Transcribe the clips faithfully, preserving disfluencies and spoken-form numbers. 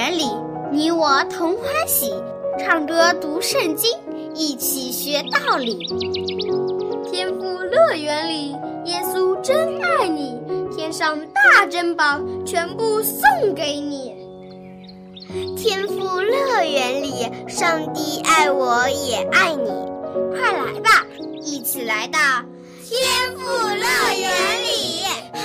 园里，你我同欢喜，唱歌读圣经，一起学道理。天父乐园里，耶稣真爱你，天上大珍宝全部送给你。天父乐园里，上帝爱我也爱你，快来吧，一起来到天父乐园里。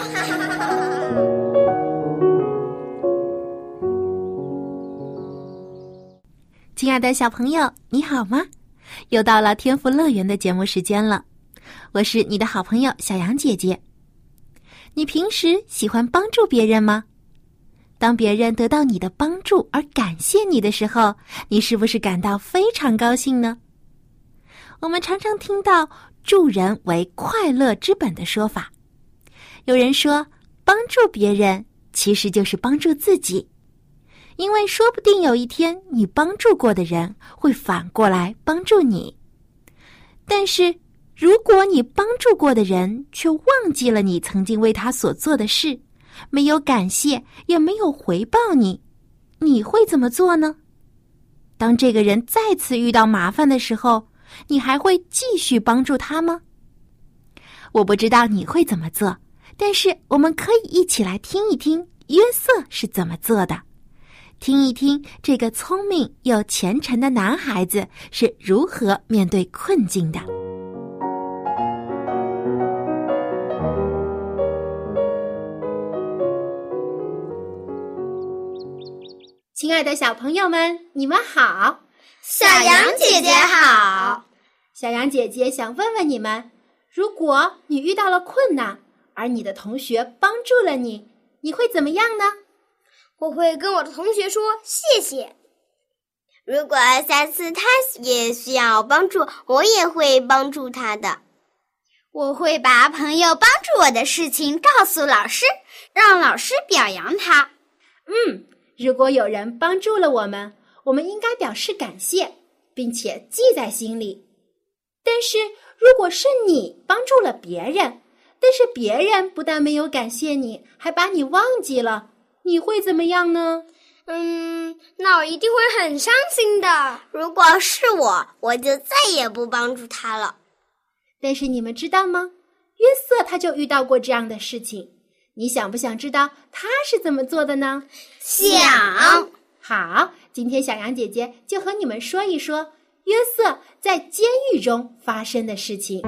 亲爱的小朋友，你好吗？又到了天父乐园的节目时间了，我是你的好朋友小杨姐姐。你平时喜欢帮助别人吗？当别人得到你的帮助而感谢你的时候，你是不是感到非常高兴呢？我们常常听到助人为快乐之本的说法，有人说帮助别人其实就是帮助自己，因为说不定有一天你帮助过的人会反过来帮助你。但是如果你帮助过的人却忘记了你曾经为他所做的事，没有感谢也没有回报你，你会怎么做呢？当这个人再次遇到麻烦的时候，你还会继续帮助他吗？我不知道你会怎么做，但是我们可以一起来听一听约瑟是怎么做的，听一听这个聪明又虔诚的男孩子是如何面对困境的。亲爱的小朋友们，你们好。 小杨姐姐好。 小杨姐姐想问问你们，如果你遇到了困难，而你的同学帮助了你，你会怎么样呢？ 我会跟我的同学说谢谢。如果下次他也需要帮助，我也会帮助他的。我会把朋友帮助我的事情告诉老师，让老师表扬他。 嗯，如果有人帮助了我们，我们应该表示感谢，并且记在心里。但是如果是你帮助了别人，但是别人不但没有感谢你，还把你忘记了，你会怎么样呢？ 嗯，那我一定会很伤心的。如果是我，我就再也不帮助他了。 但是你们知道吗？约瑟他就遇到过这样的事情。你想不想知道他是怎么做的呢？ 想。 好，今天小杨姐姐就和你们说一说约瑟在监狱中发生的事情。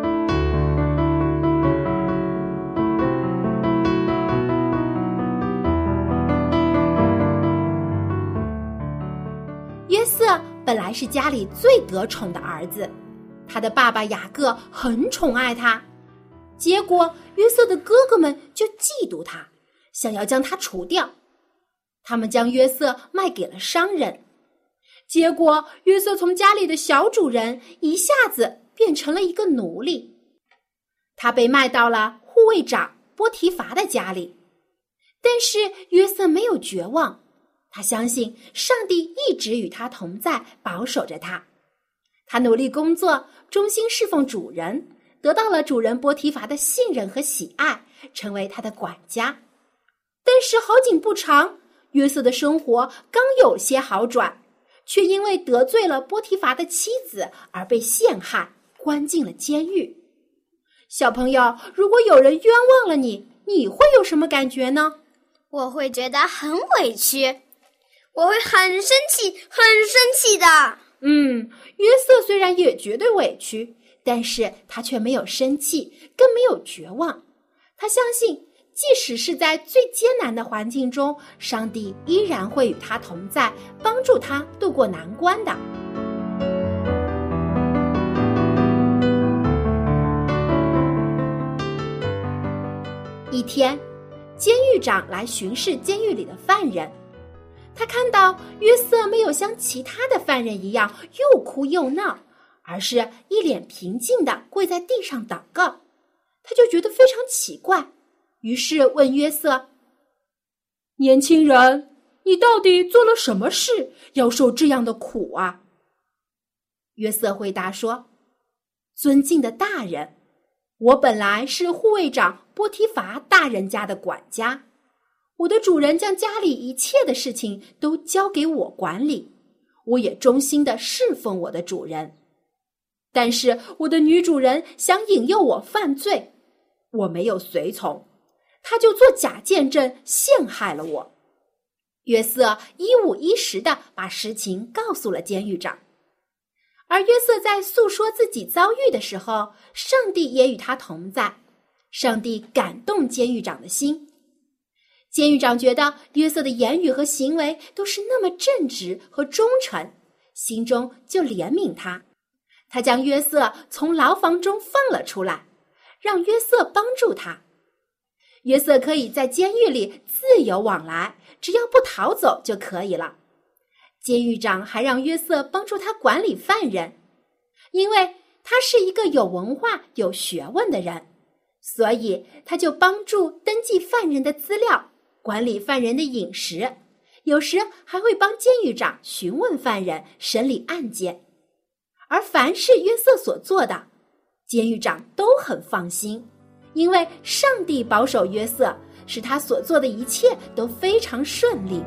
约瑟本来是家里最得宠的儿子，他的爸爸雅各很宠爱他，结果约瑟的哥哥们就嫉妒他，想要将他除掉。他们将约瑟卖给了商人，结果约瑟从家里的小主人一下子变成了一个奴隶。他被卖到了护卫长波提乏的家里，但是约瑟没有绝望，他相信上帝一直与他同在，保守着他。他努力工作，忠心侍奉主人，得到了主人波提乏的信任和喜爱，成为他的管家。但是好景不长，约瑟的生活刚有些好转，却因为得罪了波提乏的妻子而被陷害，关进了监狱。小朋友，如果有人冤枉了你，你会有什么感觉呢？ 我会觉得很委屈，我会很生气，很生气的。 嗯，约瑟虽然也觉得委屈，但是他却没有生气，更没有绝望。他相信即使是在最艰难的环境中，上帝依然会与他同在，帮助他度过难关的。一天，监狱长来巡视监狱里的犯人，他看到约瑟没有像其他的犯人一样又哭又闹，而是一脸平静地跪在地上祷告，他就觉得非常奇怪，于是问约瑟：年轻人，你到底做了什么事，要受这样的苦啊？约瑟回答说：尊敬的大人，我本来是护卫长波提乏大人家的管家， 我的主人将家里一切的事情都交给我管理，我也忠心地侍奉我的主人。但是我的女主人想引诱我犯罪，我没有随从，她就做假见证陷害了我。约瑟一五一十地把实情告诉了监狱长。而约瑟在诉说自己遭遇的时候，上帝也与他同在，上帝感动监狱长的心。监狱长觉得约瑟的言语和行为都是那么正直和忠诚，心中就怜悯他。他将约瑟从牢房中放了出来，让约瑟帮助他。约瑟可以在监狱里自由往来，只要不逃走就可以了。监狱长还让约瑟帮助他管理犯人，因为他是一个有文化、有学问的人，所以他就帮助登记犯人的资料，管理犯人的饮食，有时还会帮监狱长询问犯人、审理案件。而凡是约瑟所做的，监狱长都很放心，因为上帝保守约瑟，使他所做的一切都非常顺利。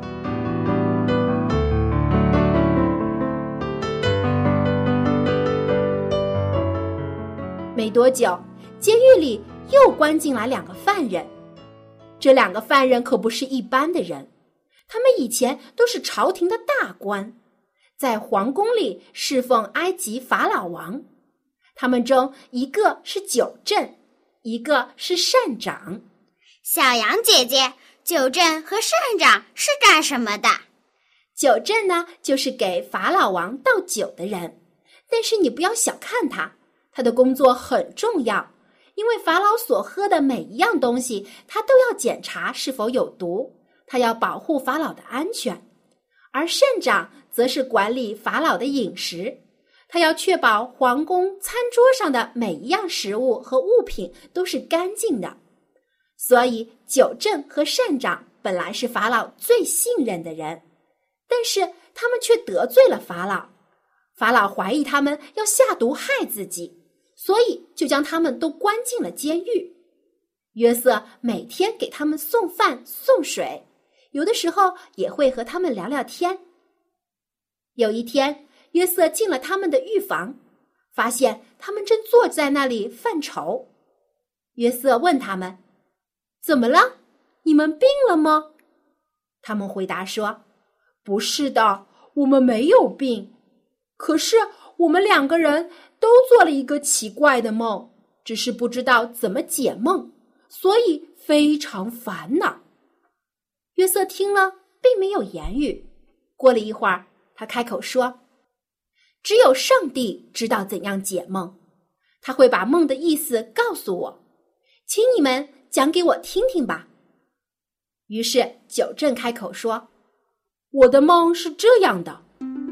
没多久，监狱里又关进来两个犯人。这两个犯人可不是一般的人，他们以前都是朝廷的大官，在皇宫里侍奉埃及法老王。他们中一个是九正，一个是善长。 小羊姐姐，九正和善长是干什么的？ 九正呢，就是给法老王倒酒的人，但是你不要小看他，他的工作很重要，因为法老所喝的每一样东西，他都要检查是否有毒，他要保护法老的安全。而善长则是管理法老的饮食，他要确保皇宫餐桌上的每一样食物和物品都是干净的。所以九正和善长本来是法老最信任的人，但是他们却得罪了法老。法老怀疑他们要下毒害自己，所以就将他们都关进了监狱。约瑟每天给他们送饭送水，有的时候也会和他们聊聊天。有一天，约瑟进了他们的狱房，发现他们正坐在那里犯愁。约瑟问他们：“怎么了？你们病了吗？”他们回答说：“不是的，我们没有病。可是我们两个人都做了一个奇怪的梦，只是不知道怎么解梦，所以非常烦恼。”约瑟听了，并没有言语。过了一会儿，他开口说：“只有上帝知道怎样解梦，他会把梦的意思告诉我，请你们讲给我听听吧。”于是九正开口说：“我的梦是这样的。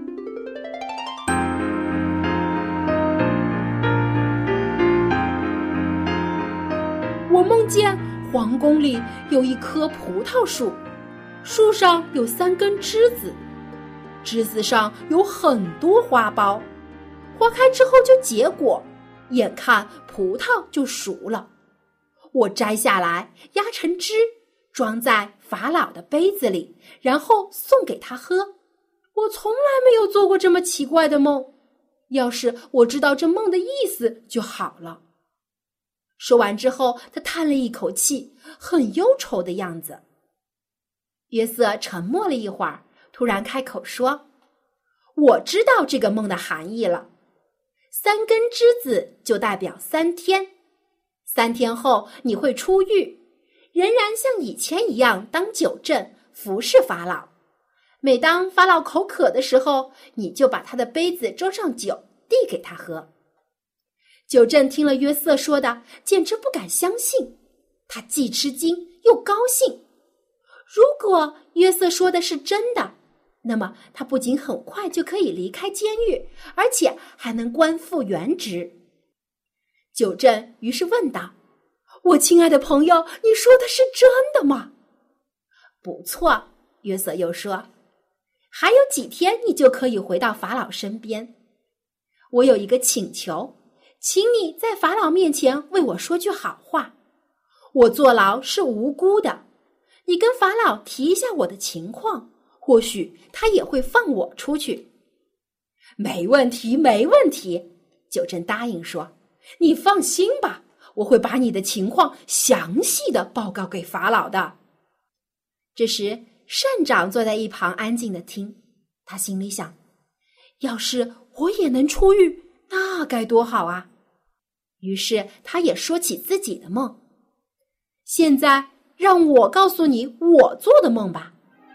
我梦见皇宫里有一棵葡萄树，树上有三根枝子，枝子上有很多花苞，花开之后就结果，眼看葡萄就熟了。我摘下来压成汁，装在法老的杯子里，然后送给他喝。我从来没有做过这么奇怪的梦，要是我知道这梦的意思就好了。”说完之后，他叹了一口气，很忧愁的样子。约瑟沉默了一会儿，突然开口说：“我知道这个梦的含义了。三根枝子就代表三天，三天后你会出狱，仍然像以前一样当酒政，服侍法老。每当法老口渴的时候，你就把他的杯子装上酒，递给他喝。”九正听了约瑟说的，简直不敢相信，他既吃惊又高兴。如果约瑟说的是真的，那么他不仅很快就可以离开监狱，而且还能官复原职。九正于是问道：“我亲爱的朋友，你说的是真的吗？”“不错。”约瑟又说，“还有几天你就可以回到法老身边。我有一个请求，请你在法老面前为我说句好话。我坐牢是无辜的， 你跟法老提一下我的情况，或许他也会放我出去。没问题，没问题，九正答应说，你放心吧，我会把你的情况详细的报告给法老的。这时善长坐在一旁安静的听，他心里想，要是我也能出狱，那该多好啊。于是他也说起自己的梦。现在让我告诉你我做的梦吧。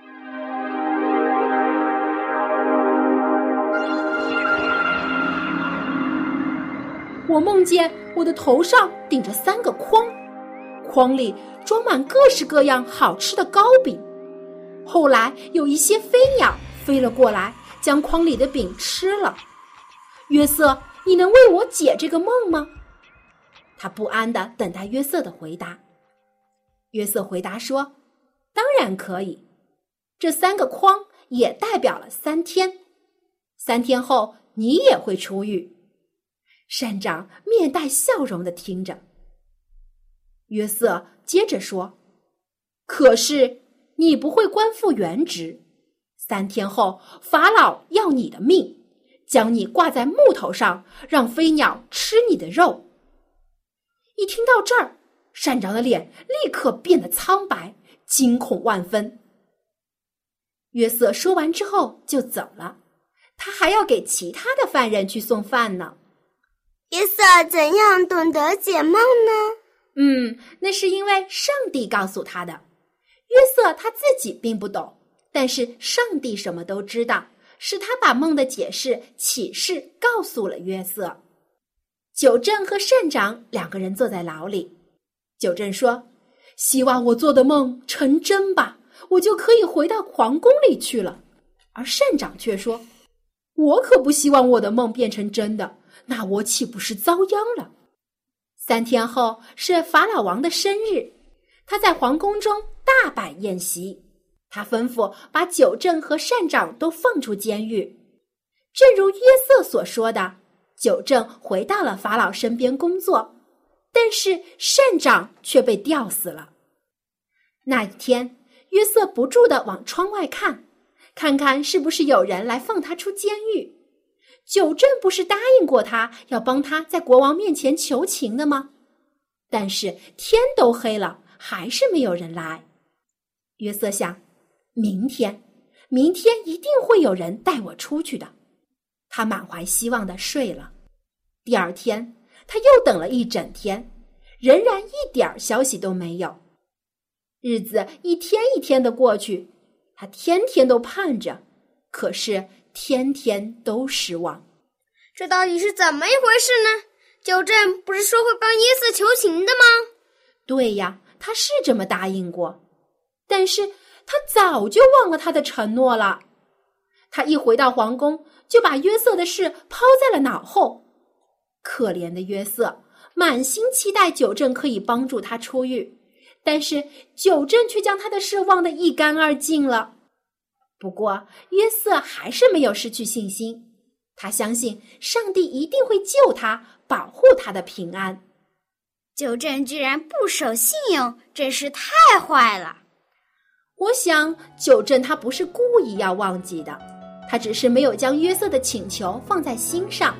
我梦见我的头上顶着三个筐，筐里装满各式各样好吃的糕饼。后来有一些飞鸟飞了过来，将筐里的饼吃了。约瑟，你能为我解这个梦吗？他不安地等待约瑟的回答。约瑟回答说，当然可以。这三个筐也代表了三天，三天后你也会出狱。善长面带笑容地听着。约瑟接着说，可是你不会官复原职，三天后法老要你的命，将你挂在木头上，让飞鸟吃你的肉。一听到这儿，善长的脸立刻变得苍白，惊恐万分。约瑟说完之后就走了，他还要给其他的犯人去送饭呢。 约瑟怎样懂得解梦呢？ 嗯，那是因为上帝告诉他的。约瑟他自己并不懂，但是上帝什么都知道，是他把梦的解释启示告诉了约瑟。九正和善长两个人坐在牢里。九正说，希望我做的梦成真吧，我就可以回到皇宫里去了。而善长却说，我可不希望我的梦变成真的，那我岂不是遭殃了？三天后是法老王的生日，他在皇宫中大摆宴席，他吩咐把九正和善长都放出监狱。正如约瑟所说的，九正回到了法老身边工作，但是善长却被吊死了。那一天，约瑟不住地往窗外看，看看是不是有人来放他出监狱。九正不是答应过他要帮他在国王面前求情的吗？但是天都黑了，还是没有人来。约瑟想，明天，明天一定会有人带我出去的。他满怀希望地睡了。第二天，他又等了一整天，仍然一点消息都没有。日子一天一天的过去，他天天都盼着，可是天天都失望。 这到底是怎么一回事呢？九正不是说会帮约瑟求情的吗？ 对呀，他是这么答应过，但是他早就忘了他的承诺了。他一回到皇宫，就把约瑟的事抛在了脑后。可怜的约瑟，满心期待九正可以帮助他出狱，但是九正却将他的事忘得一干二净了。不过约瑟还是没有失去信心，他相信上帝一定会救他，保护他的平安。 九正居然不守信用，真是太坏了。 我想九正他不是故意要忘记的，他只是没有将约瑟的请求放在心上。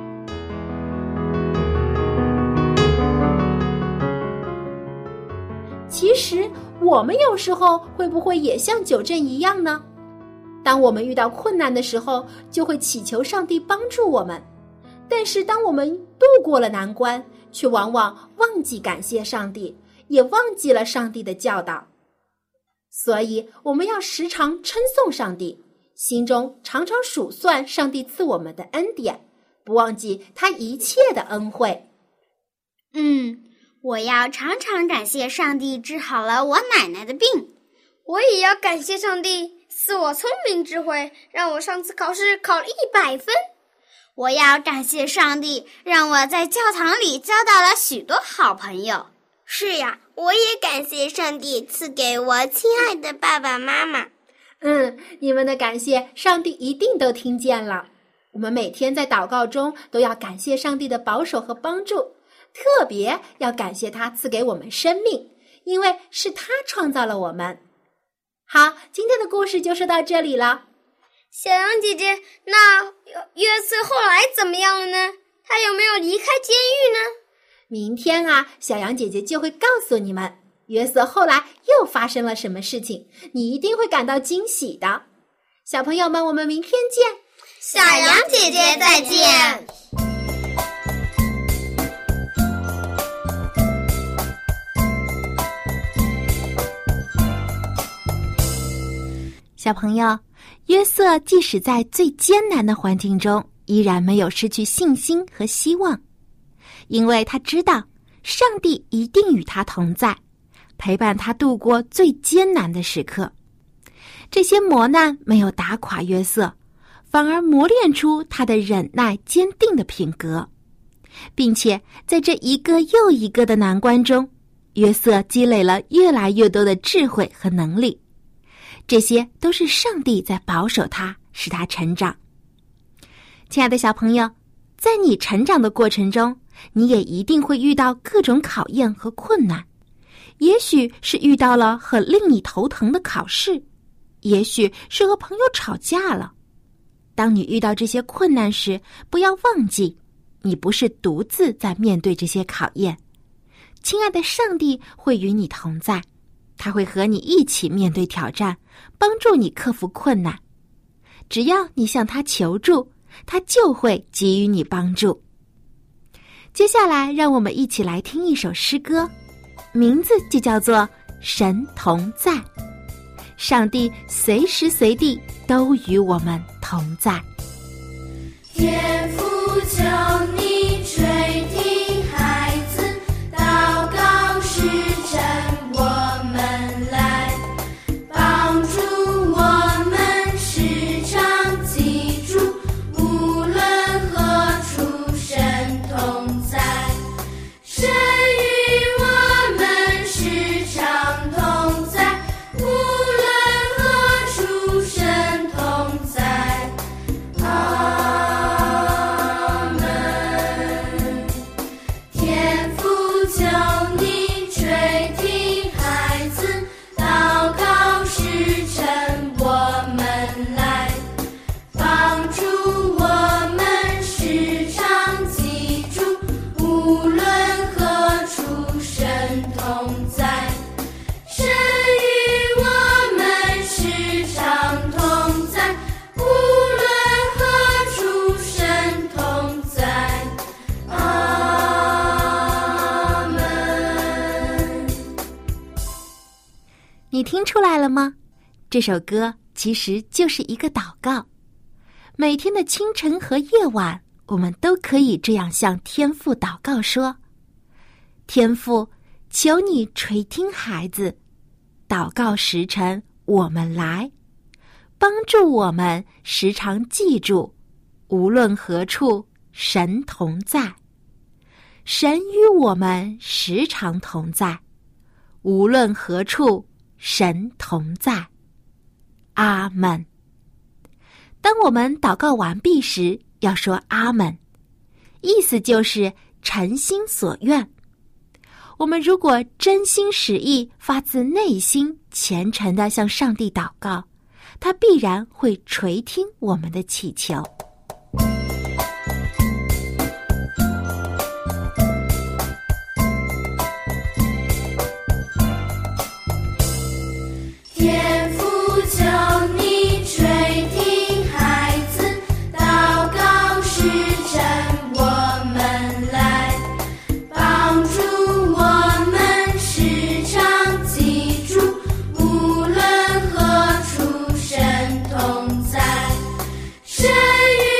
其实我们有时候会不会也像九正一样呢？当我们遇到困难的时候，就会祈求上帝帮助我们，但是当我们度过了难关，却往往忘记感谢上帝，也忘记了上帝的教导。所以我们要时常称颂上帝，心中常常数算上帝赐我们的恩典，不忘记他一切的恩惠。 嗯，我要常常感谢上帝治好了我奶奶的病。我也要感谢上帝赐我聪明智慧，让我上次考试考了一百分。我要感谢上帝，让我在教堂里交到了许多好朋友。是呀，我也感谢上帝赐给我亲爱的爸爸妈妈。 嗯，你们的感谢上帝一定都听见了。我们每天在祷告中都要感谢上帝的保守和帮助，特别要感谢他赐给我们生命， 因为是他创造了我们。好，今天的故事就说到这里了。 小羊姐姐，那约瑟后来怎么样了呢？他有没有离开监狱呢？ 明天啊，小羊姐姐就会告诉你们，约瑟后来又发生了什么事情，你一定会感到惊喜的。小朋友们，我们明天见。 小羊姐姐再见。 小朋友，约瑟即使在最艰难的环境中，依然没有失去信心和希望，因为他知道上帝一定与他同在，陪伴他度过最艰难的时刻。这些磨难没有打垮约瑟，反而磨练出他的忍耐坚定的品格，并且在这一个又一个的难关中，约瑟积累了越来越多的智慧和能力。这些都是上帝在保守他，使他成长。亲爱的小朋友，在你成长的过程中，你也一定会遇到各种考验和困难，也许是遇到了很令你头疼的考试，也许是和朋友吵架了。当你遇到这些困难时，不要忘记，你不是独自在面对这些考验。亲爱的上帝会与你同在，他会和你一起面对挑战，帮助你克服困难。只要你向他求助，他就会给予你帮助。接下来让我们一起来听一首诗歌，名字就叫做《神同在》。上帝随时随地都与我们同在。 天父，求你垂听孩子祷告时辰，我们来帮助我们时常记住，无论何处神同在，神与我们时常同在，无论何处神同在。阿门。天父，求你垂听孩子祷告时辰，我们来帮助我们时常记住，无论何处神同在，神与我们时常同在，无论何处神同在。阿门。 你听出来了吗？这首歌其实就是一个祷告。每天的清晨和夜晚，我们都可以这样向天父祷告说：天父，求你垂听孩子，祷告时辰我们来，帮助我们时常记住，无论何处神同在，神与我们时常同在，无论何处神同在。阿们。当我们祷告完毕时，要说阿们，意思就是诚心所愿。我们如果真心实意，发自内心虔诚地向上帝祷告，他必然会垂听我们的祈求。 天父，求你垂听孩子祷告时辰，我们来帮助我们时常记住，无论何处神同在，神与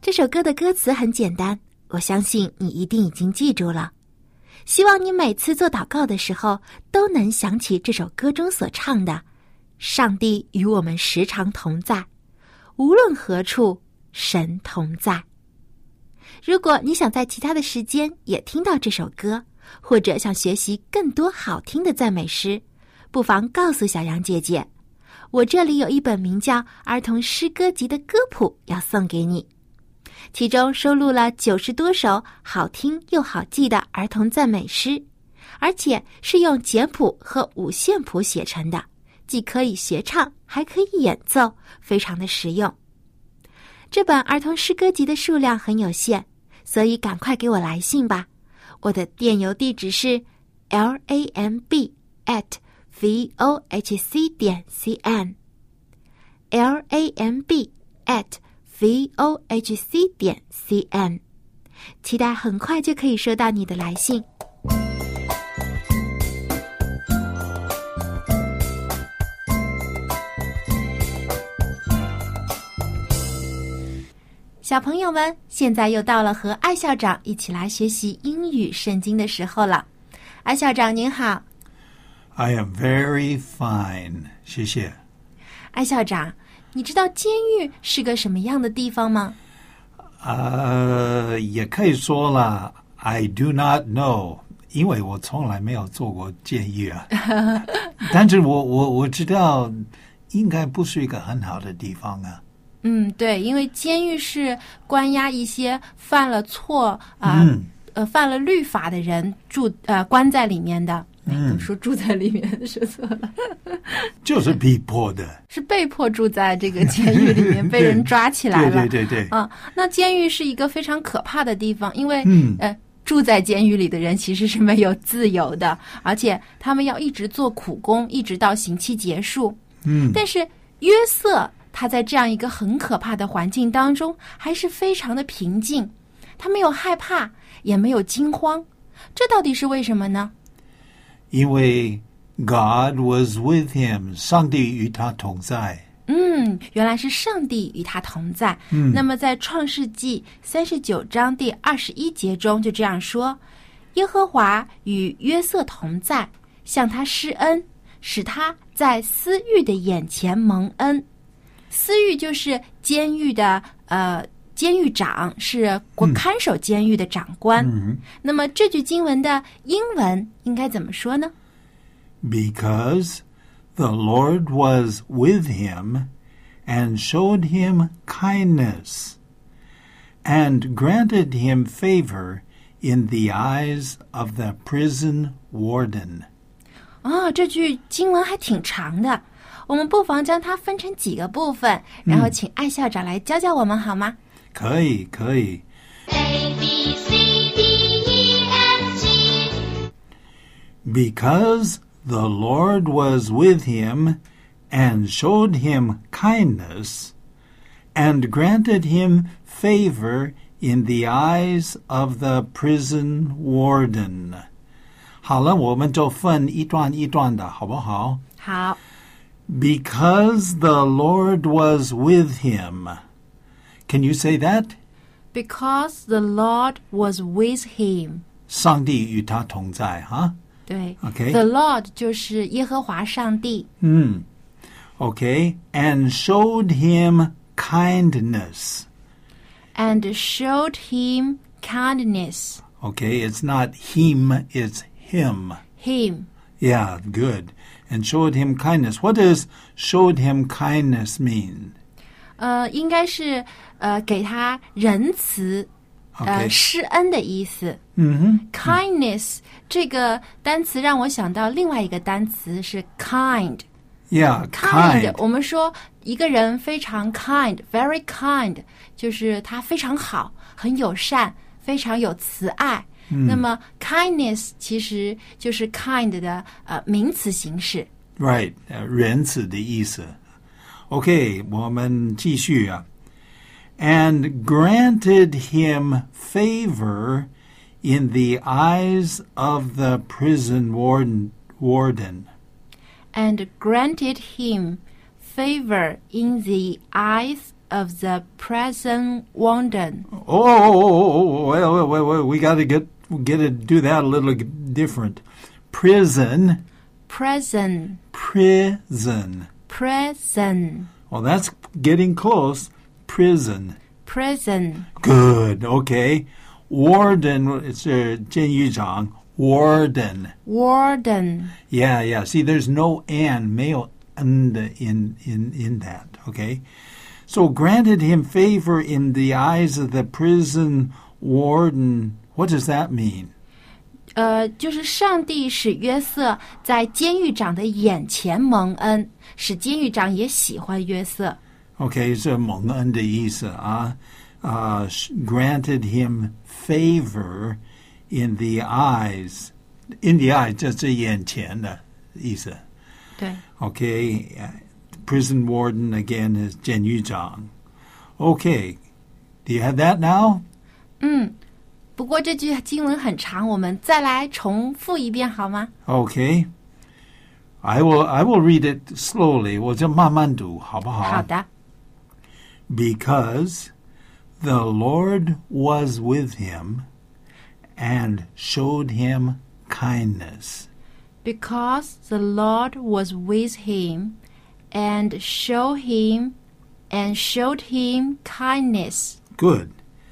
这首歌的歌词很简单，我相信你一定已经记住了。希望你每次做祷告的时候都能想起这首歌中所唱的上帝与我们时常同在，无论何处神同在。如果你想在其他的时间也听到这首歌，或者想学习更多好听的赞美诗，不妨告诉小羊姐姐，我这里有一本名叫《儿童诗歌集》的歌谱要送给你，其中收录了九十多首好听又好记的儿童赞美诗，而且是用简谱和五线谱写成的，既可以学唱还可以演奏，非常的实用。这本儿童诗歌集的数量很有限，所以赶快给我来信吧。我的电邮地址是 lamb at vohc 点 cn lamb at vohc 点 cn， 期待很快就可以收到你的来信。小朋友们，现在又到了和艾校长一起来学习英语圣经的时候了。艾校长您好。 I am very fine， 谢谢。 艾校长，你知道监狱是个什么样的地方吗？ 呃，也可以说了 I do not know， 因为我从来没有做过监狱啊。但是我我我知道应该不是一个很好的地方啊。 嗯，对，因为监狱是关押一些犯了错啊、呃嗯、 呃犯了律法的人住呃关在里面的。 嗯， 都说住在里面说错了， 就是逼迫的， 是被迫住在这个监狱里面，被人抓起来了。 对对对对。 啊，那监狱是一个非常可怕的地方，因为、 嗯、 呃，住在监狱里的人其实是没有自由的，而且他们要一直做苦工，一直到刑期结束。 嗯， 但是约瑟他在这样一个很可怕的环境当中，还是非常的平静，他没有害怕，也没有惊慌，这到底是为什么呢？ 因为 God was with him， 上帝与他同在。 嗯，原来是上帝与他同在。 嗯， 那么在创世纪三十九章第二十一节中就这样说：耶和华与约瑟同在，向他施恩，使他在司狱的眼前蒙恩。司狱就是监狱的呃监狱长，是国看守监狱的长官。 嗯， 那么这句经文的英文应该怎么说呢？ Because the Lord was with him and showed him kindness and granted him favor in the eyes of the prison warden。 哦，这句经文还挺长的，我们不妨将它分成几个部分，然后请艾校长来教教我们好吗？ 可以可以。 A B C D E F G Because the Lord was with him and showed him kindness and granted him favor in the eyes of the prison warden。 好了，我们就分一段一段的，好不好？ 好。 Because the Lord was with him。Can you say that? Because the Lord was with him. 上帝与他同在，哈？ 对。 Okay. The Lord 就是耶和华上帝。 嗯 Okay. And showed him kindness. And showed him kindness. Okay. It's not him, it's him. Him. Yeah, good. And showed him kindness. What does showed him kindness mean? 呃，应该是呃给他仁慈，呃 Okay. 施恩的意思。 嗯哼。 Kindness 这个单词让我想到另外一个单词是 kind。 Yeah, kind， kind. 我们说一个人非常 kind， very kind， 就是他非常好，很友善，非常有慈爱。 嗯、 那么 kindness 其实就是 kind 的呃名词形式。 Right， 呃，仁慈的意思。OK， 我们继续啊。And granted him favor in the eyes of the prison warden. warden. And granted him favor in the eyes of the present warden. Oh, oh, oh, oh, wait, wait, wait, we got to get get to do that a little different. Prison. Prison. Prison. Prison. Well, that's getting close. Prison. Prison. Good. Okay. Warden. It's uh, 监狱长. Warden. Warden. Yeah, yeah. See, there's no and, 没有 and in in in that. Okay. So granted him favor in the eyes of the prison warden. What does that mean? 呃，就是上帝使约瑟在监狱长的眼前蒙恩，使监狱长也喜欢约瑟。 Okay, 是蒙恩的意思啊。Uh, granted him favor in the eyes. In the eyes 就是眼前的意思。 对。 Okay, uh, prison warden again is 监狱长。Okay, do you have that now? 嗯。不过这句经文很长，我们再来重复一遍好吗？ Okay. I will I will read it slowly. 我就慢慢读，好不好？ 好的。 Because the Lord was with him and showed him kindness. Because the Lord was with him and showed him and showed him kindness. Good.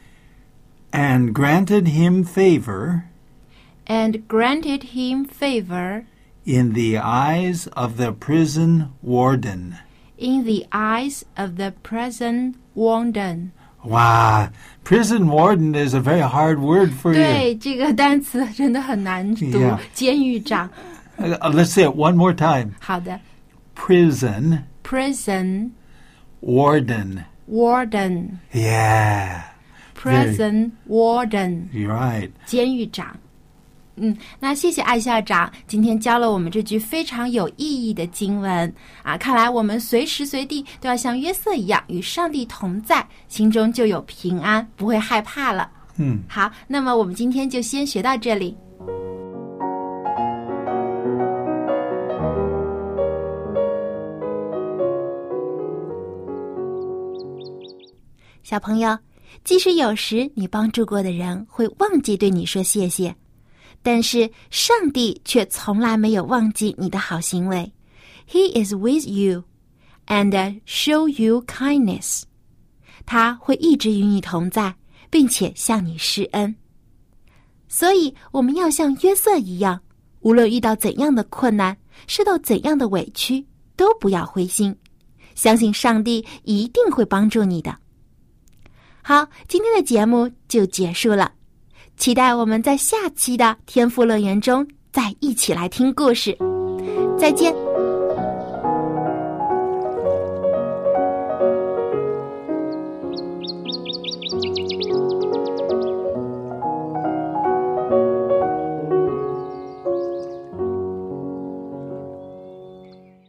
And granted him favor and granted him favor in the eyes of the prison warden. in the eyes of the prison warden. Wow, prison warden is a very hard word for 对， you. 这个单词真的很难读。 Yeah. 监狱长。 Uh, let's say it one more time. 好的。 Prison Prison warden. warden. Yeah. Prison warden. You're right. 监狱长。嗯，那谢谢艾校长今天教了我们这句非常有意义的经文啊！看来我们随时随地都要像约瑟一样与上帝同在，心中就有平安，不会害怕了。 嗯， 好，那么我们今天就先学到这里。小朋友，即使有时你帮助过的人会忘记对你说谢谢，但是上帝却从来没有忘记你的好行为。He is with you and show you kindness. 他会一直与你同在，并且向你施恩。所以我们要像约瑟一样，无论遇到怎样的困难，受到怎样的委屈，都不要灰心，相信上帝一定会帮助你的。好，今天的节目就结束了，期待我们在下期的天父乐园中再一起来听故事。再见。